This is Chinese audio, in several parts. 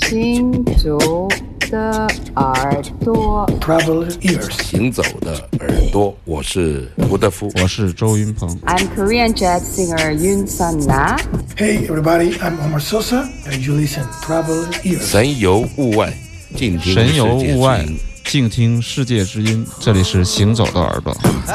行走的耳朵 Travel ears 行走的耳朵，我是吴德夫， 我是周云鹏。 I'm Korean jazz singer Yoon Sun-na. Hey everybody, I'm Omar Sosa and you listen Travel ears 神游物外，静听神游物外世界之音， 静听世界之音。这里是行走的耳朵。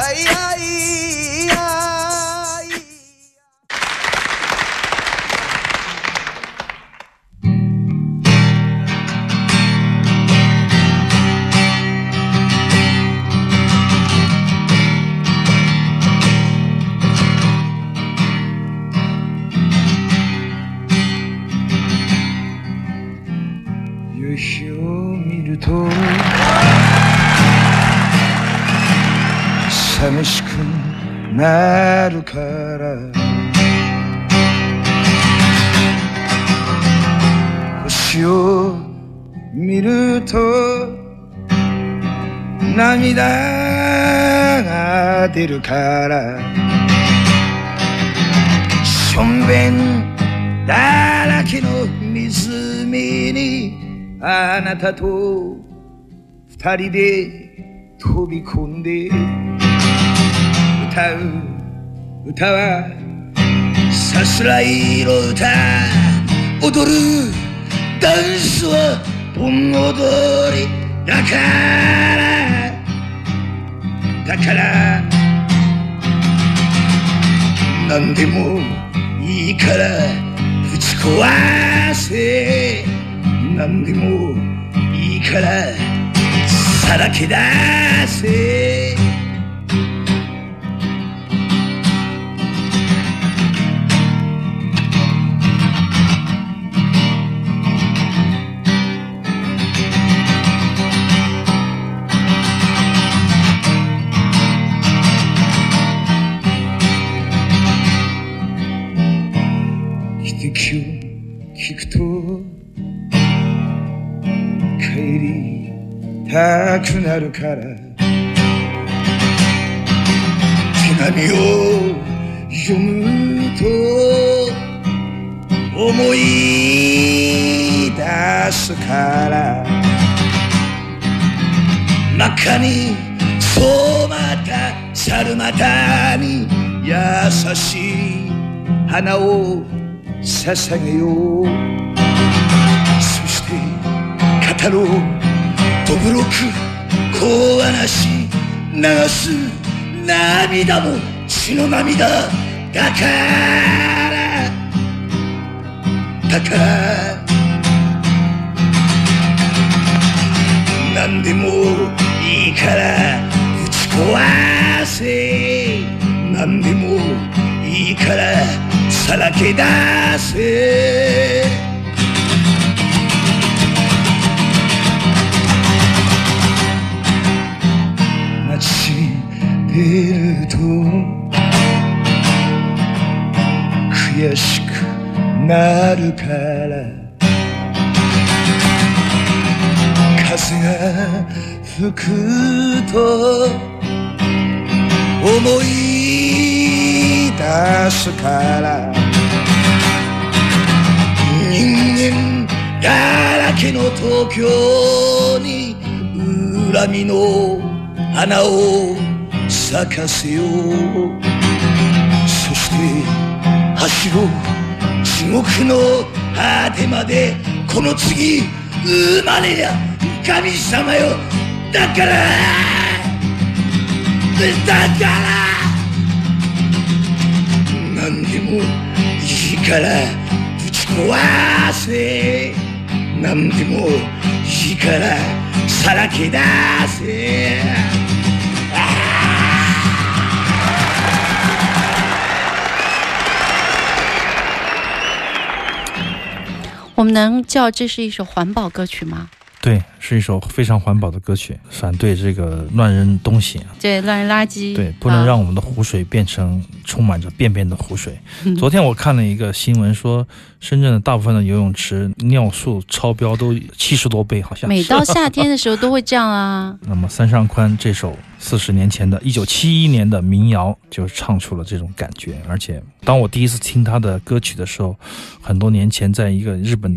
夕日を見ると寂しくなるから星を見ると涙が出るからしょんべんだらけの湖にあなたと二人で飛び込んで歌う歌はさすらいの歌踊るダンスは盆踊りだから何でもいいからぶち壊せ何でもいいからさらけ出せ汽笛を聞くと帰りたくなるから手紙を読むと思い出すから真っ赤に染まった猿股に優しい花を捧げようそして語ろうどぶろく小話流す涙も血の涙だから何でもいいからぶち壊せ何でもいいからさらけ出せ街に出ると悔しくなるから風が吹くと思い出すから人間だらけの東京に恨みの花を咲かせようそして走ろう地獄の果てまでこの次生まれりゃ神様よだから何でもいいからぶち壊せ何でもいいからさらけ出せ我们能叫这是一首环保歌曲吗？ 对，是一首非常环保的歌曲，反对这个乱扔东西， 对，乱扔垃圾， 对，不能让我们的湖水变成充满着便便的湖水。昨天我看了一个新闻说，深圳的大部分的游泳池尿素超标都70多倍，好像每到夏天的时候都会这样啊。 那么三上宽这首40年前的1971年的民谣就唱出了这种感觉，而且当我第一次听他的歌曲的时候，很多年前在一个日本的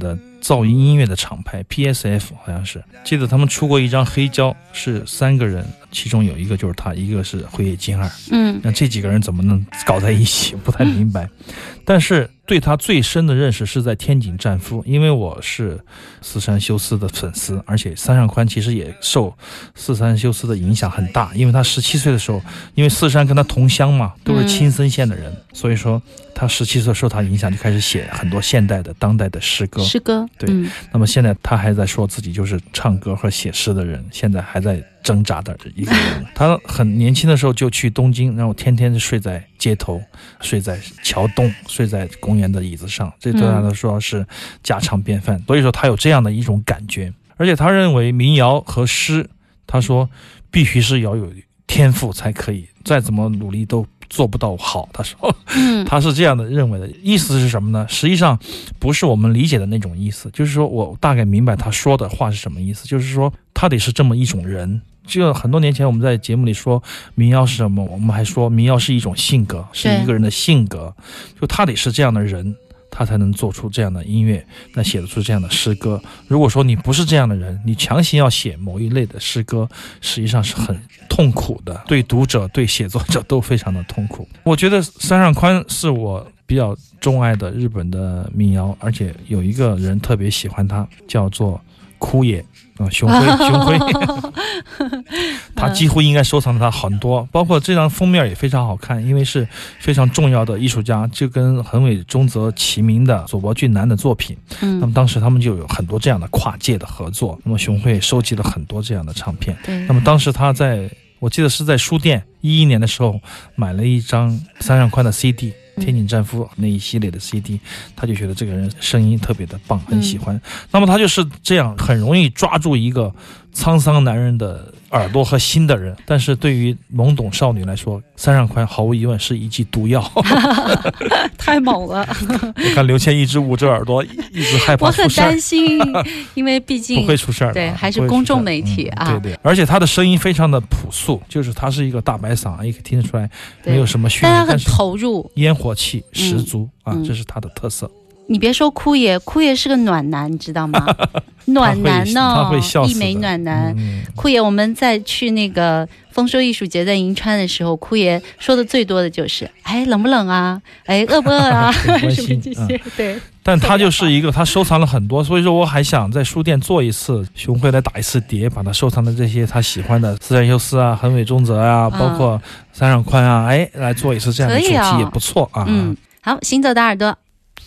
噪音音乐的厂牌 PSF 好像是，记得他们出过一张黑胶，是3个人，其中有一个就是他，一个是辉夜金二。那这几个人怎么能搞在一起，不太明白。但是对他最深的认识是在天井战夫，因为我是四山修斯的粉丝，而且三上宽其实也受四山修斯的影响很大，因为他17岁的时候，因为四山跟他同乡嘛，都是青森县的人，所以说他17岁受他影响就开始写很多现代的当代的诗歌。对，那么现在他还在说自己就是唱歌和写诗的人，现在还在挣扎的一个人。他很年轻的时候就去东京，然后天天睡在街头，睡在桥洞，睡在公园的椅子上，这对他来说是家常便饭。所以说他有这样的一种感觉，而且他认为民谣和诗，他说必须是要有天赋才可以，再怎么努力都做不到好。他说他是这样的认为的。意思是什么呢？实际上不是我们理解的那种意思，就是说我大概明白他说的话是什么意思，就是说他得是这么一种人。就很多年前我们在节目里说民谣是什么，我们还说民谣是一种性格，是一个人的性格，就他得是这样的人，他才能做出这样的音乐，那写得出这样的诗歌。如果说你不是这样的人，你强行要写某一类的诗歌，实际上是很痛苦的，对读者对写作者都非常的痛苦。我觉得三上宽是我比较钟爱的日本的民谣，而且有一个人特别喜欢他，叫做枯野熊辉他几乎应该收藏了他很多，包括这张封面也非常好看，因为是非常重要的艺术家，就跟横尾中泽齐名的佐伯俊男的作品。那么当时他们就有很多这样的跨界的合作，那么熊辉收集了很多这样的唱片。那么当时他我记得是在书店11年的时候买了一张三上宽的 CD，天井战夫那一系列的 CD， 他就觉得这个人声音特别的棒，很喜欢。那么他就是这样很容易抓住一个沧桑男人的耳朵和心的人，但是对于懵懂少女来说，三上宽毫无疑问是一剂毒药。 太猛了。 我看刘谦一直捂着耳朵，一直害怕出事。 我很担心，因为毕竟不会出事儿， 对，还是公众媒体啊。 对，而且他的声音非常的朴素，就是他是一个大白嗓，也可以听得出来没有什么训练， 但他很投入， 烟火气十足这是他的特色。 你别说枯野是个暖男，你知道吗？暖男呢， 他会笑死的， 一枚暖男。枯野，我们在去那个丰收艺术节在银川的时候，枯野说的最多的就是冷不冷啊，饿不饿啊，什么这些。对， 但他就是一个，他收藏了很多，所以说我还想在书店做一次，熊辉来打一次碟，把他收藏的这些他喜欢的四山修斯啊、横尾中泽啊，包括三上宽啊，来做一次这样的主题也不错啊。 好，行走的耳朵。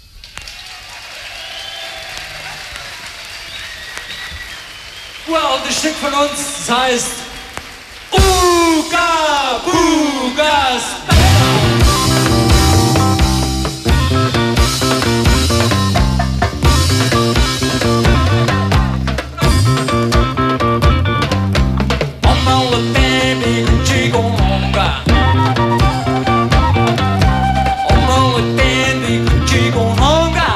Well, das Stück von uns, das heißt Uga Bugas Mama le baby Chigonga Mama le baby Chigonga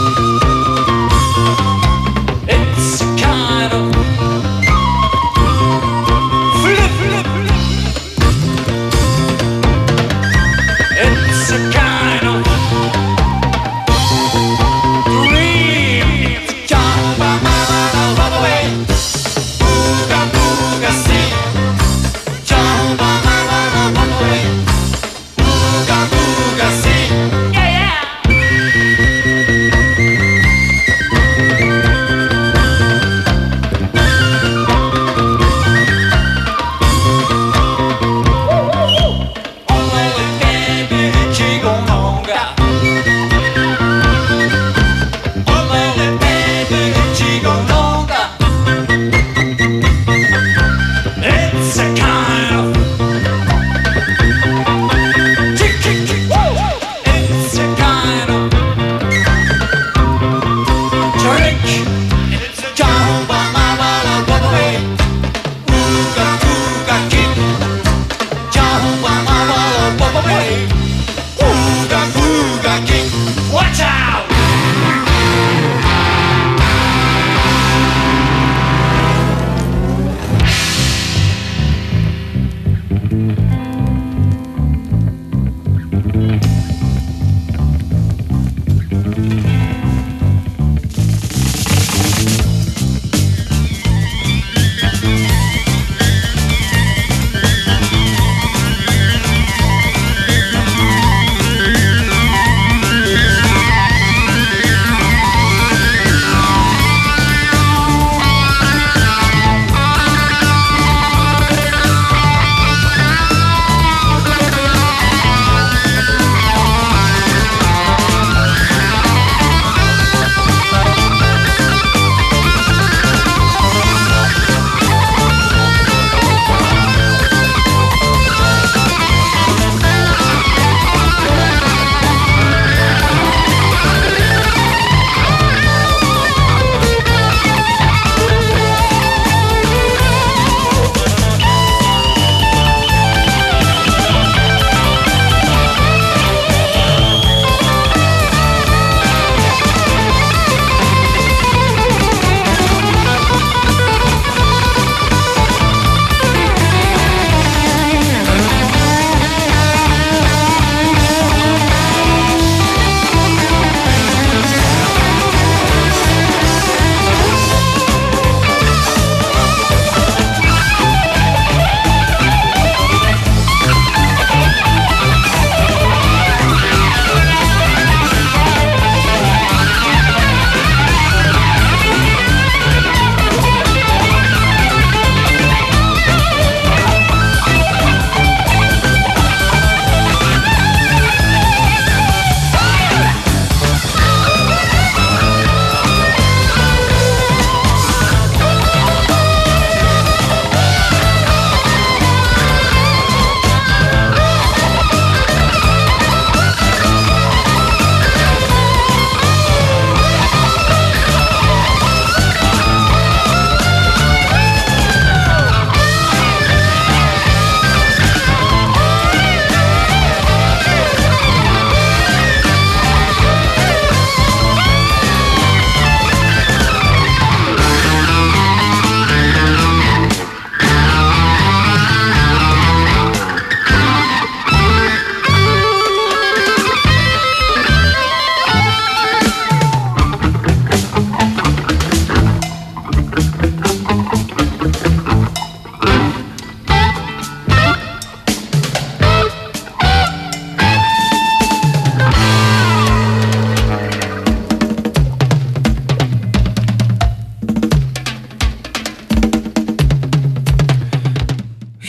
It's a kind of flip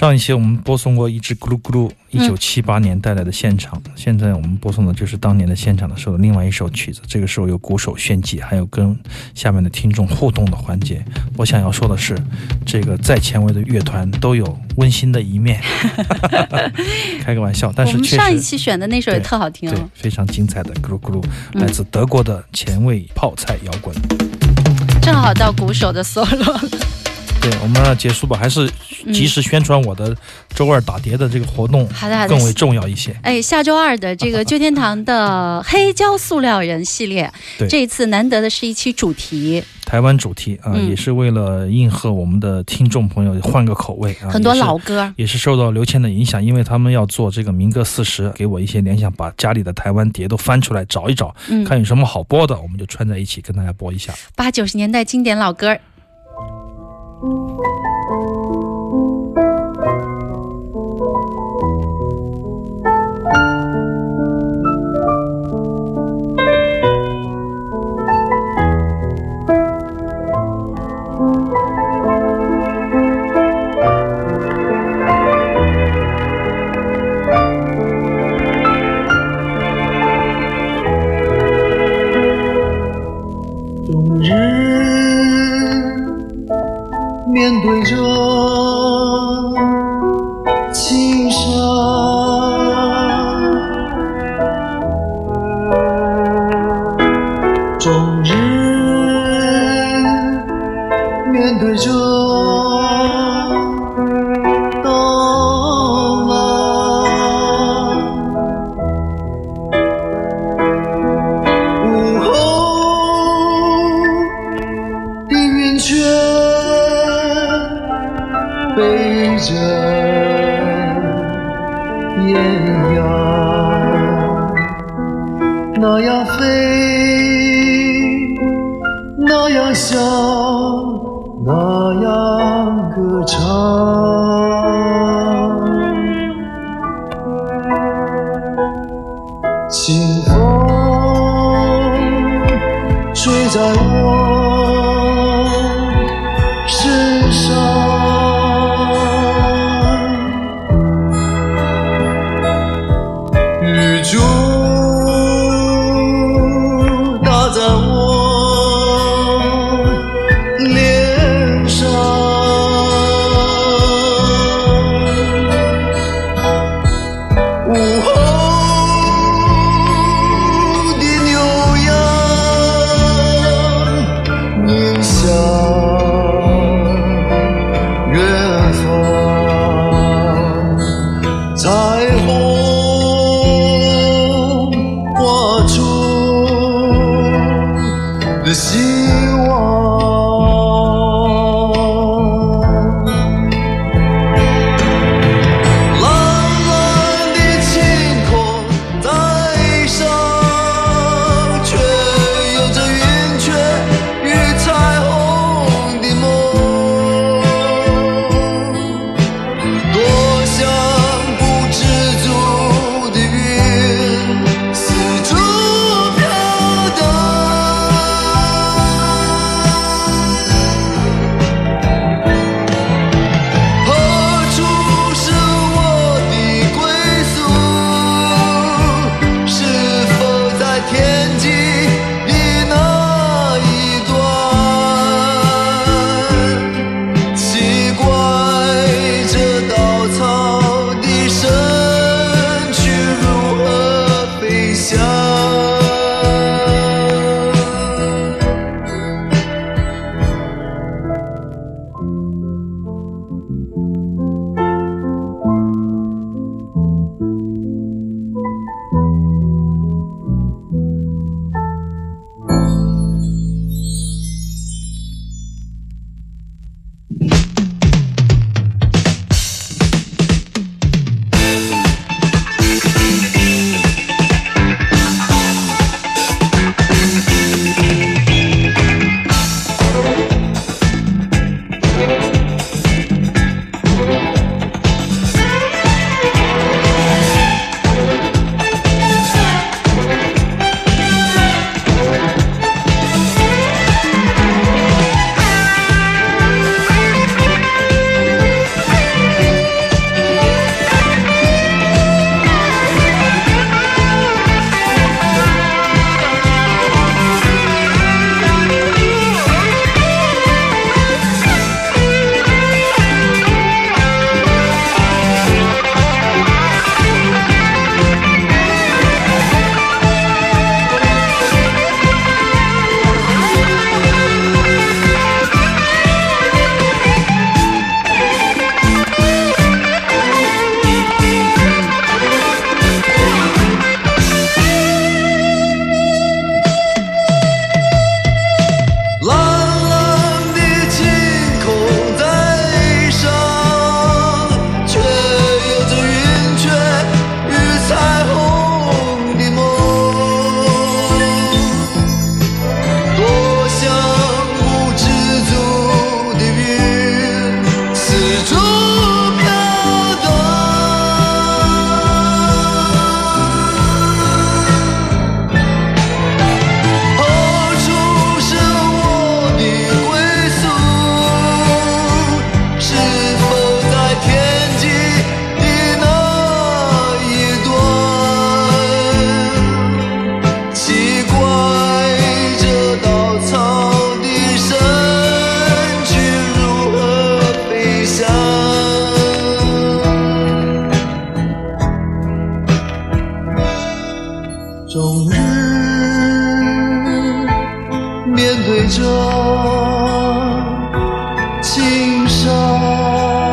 上一期我们播送过一支咕噜咕噜1978年带来的现场，现在我们播送的就是当年的现场的时候的另外一首曲子，这个时候有鼓手炫技，还有跟下面的听众互动的环节。我想要说的是，这个再前卫的乐团都有温馨的一面开个玩笑，但是确实我们上一期选的那首也特好听， 对，非常精彩的咕噜咕噜，来自德国的前卫泡菜摇滚， 正好到鼓手的 solo。 对，我们要结束吧，还是及时宣传我的周二打碟的这个活动更为重要一些。 下周二的这个旧天堂的黑胶塑料人系列，这一次难得的是一期主题， 台湾主题啊，也是为了应和我们的听众朋友换个口味啊， 很多老歌也是受到刘谦的影响，因为他们要做这个民歌40，给我一些联想，把家里的台湾碟都翻出来找一找，看有什么好播的，我们就串在一起跟大家播一下 80、90年代经典老歌。 冬日面对着青山，终日面对着大浪，午后的云雀背着艳阳，那样飞，那样笑，那样歌唱。清风吹在我身上，雨珠打在我脸上，午后的牛羊迎向远方，彩虹画出的希望，蓝蓝的晴空在上，却有着云雀与彩虹的梦，多想不知足的云四处飘荡， 面对着青山。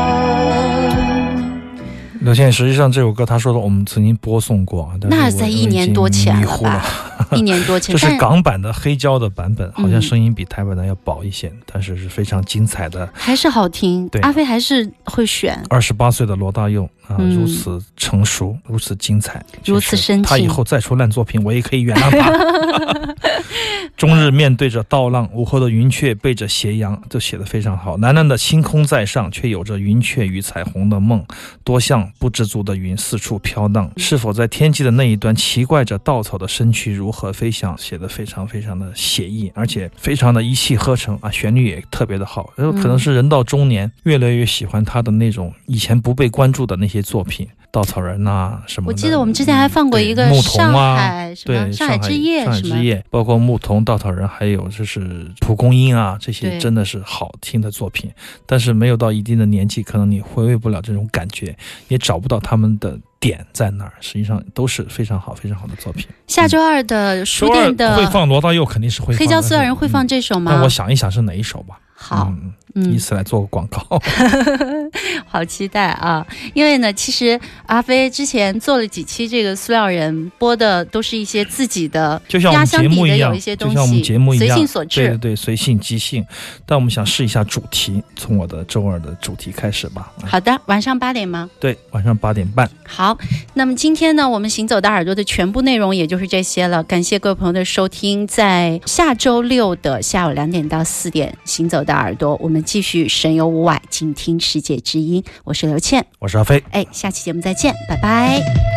刘倩，实际上这首歌他说的我们曾经播送过，但是那在1年多前了吧？1年多前， 这是港版的黑胶的版本，好像声音比台版的要薄一些，但是是非常精彩的， 还是好听。对，阿飞还是会选。28 岁的罗大佑啊，如此成熟，如此精彩， 如此深情。 他以后再出烂作品，我也可以原谅他。终日面对着倒浪，午后的云雀背着斜阳，这写得非常好。蓝蓝的星空在上，却有着云雀与彩虹的梦，多像不知足的云四处飘荡，是否在天际的那一端奇怪着稻草的身躯如何飞翔，写得非常非常的写意，而且非常的一气呵成啊，旋律也特别的好。可能是人到中年越来越喜欢他的那种以前不被关注的那些作品，稻草人啊什么的。 我记得我们之前还放过一个上海什么上海之夜， 上海之夜，包括牧童、稻草人，还有就是蒲公英啊，这些真的是好听的作品。但是没有到一定的年纪，可能你回味不了这种感觉，也找不到他们的点在哪儿。实际上都是非常好、非常好的作品。 下周二的书店的会放罗大佑，肯定是会放。 黑胶塑料人会放这首吗？ 那我想一想是哪一首吧。 好。 以此来做个广告。 好期待啊！因为呢，其实阿飞之前做了几期这个塑料人，播的都是一些自己的压箱底的有一些东西， 就像我们节目一样， 随性所致。 对对，随性即兴。但我们想试一下主题，从我的周二的主题开始吧。 好的，晚上8点吗？ 对，晚上8点半。 好，那么今天呢，我们行走的耳朵的全部内容也就是这些了。感谢各位朋友的收听，在下周6的下午2点到4点，行走的耳朵，我们继续神游无外，静听世界之音。我是刘倩， 我是阿飞。 下期节目再见，拜拜。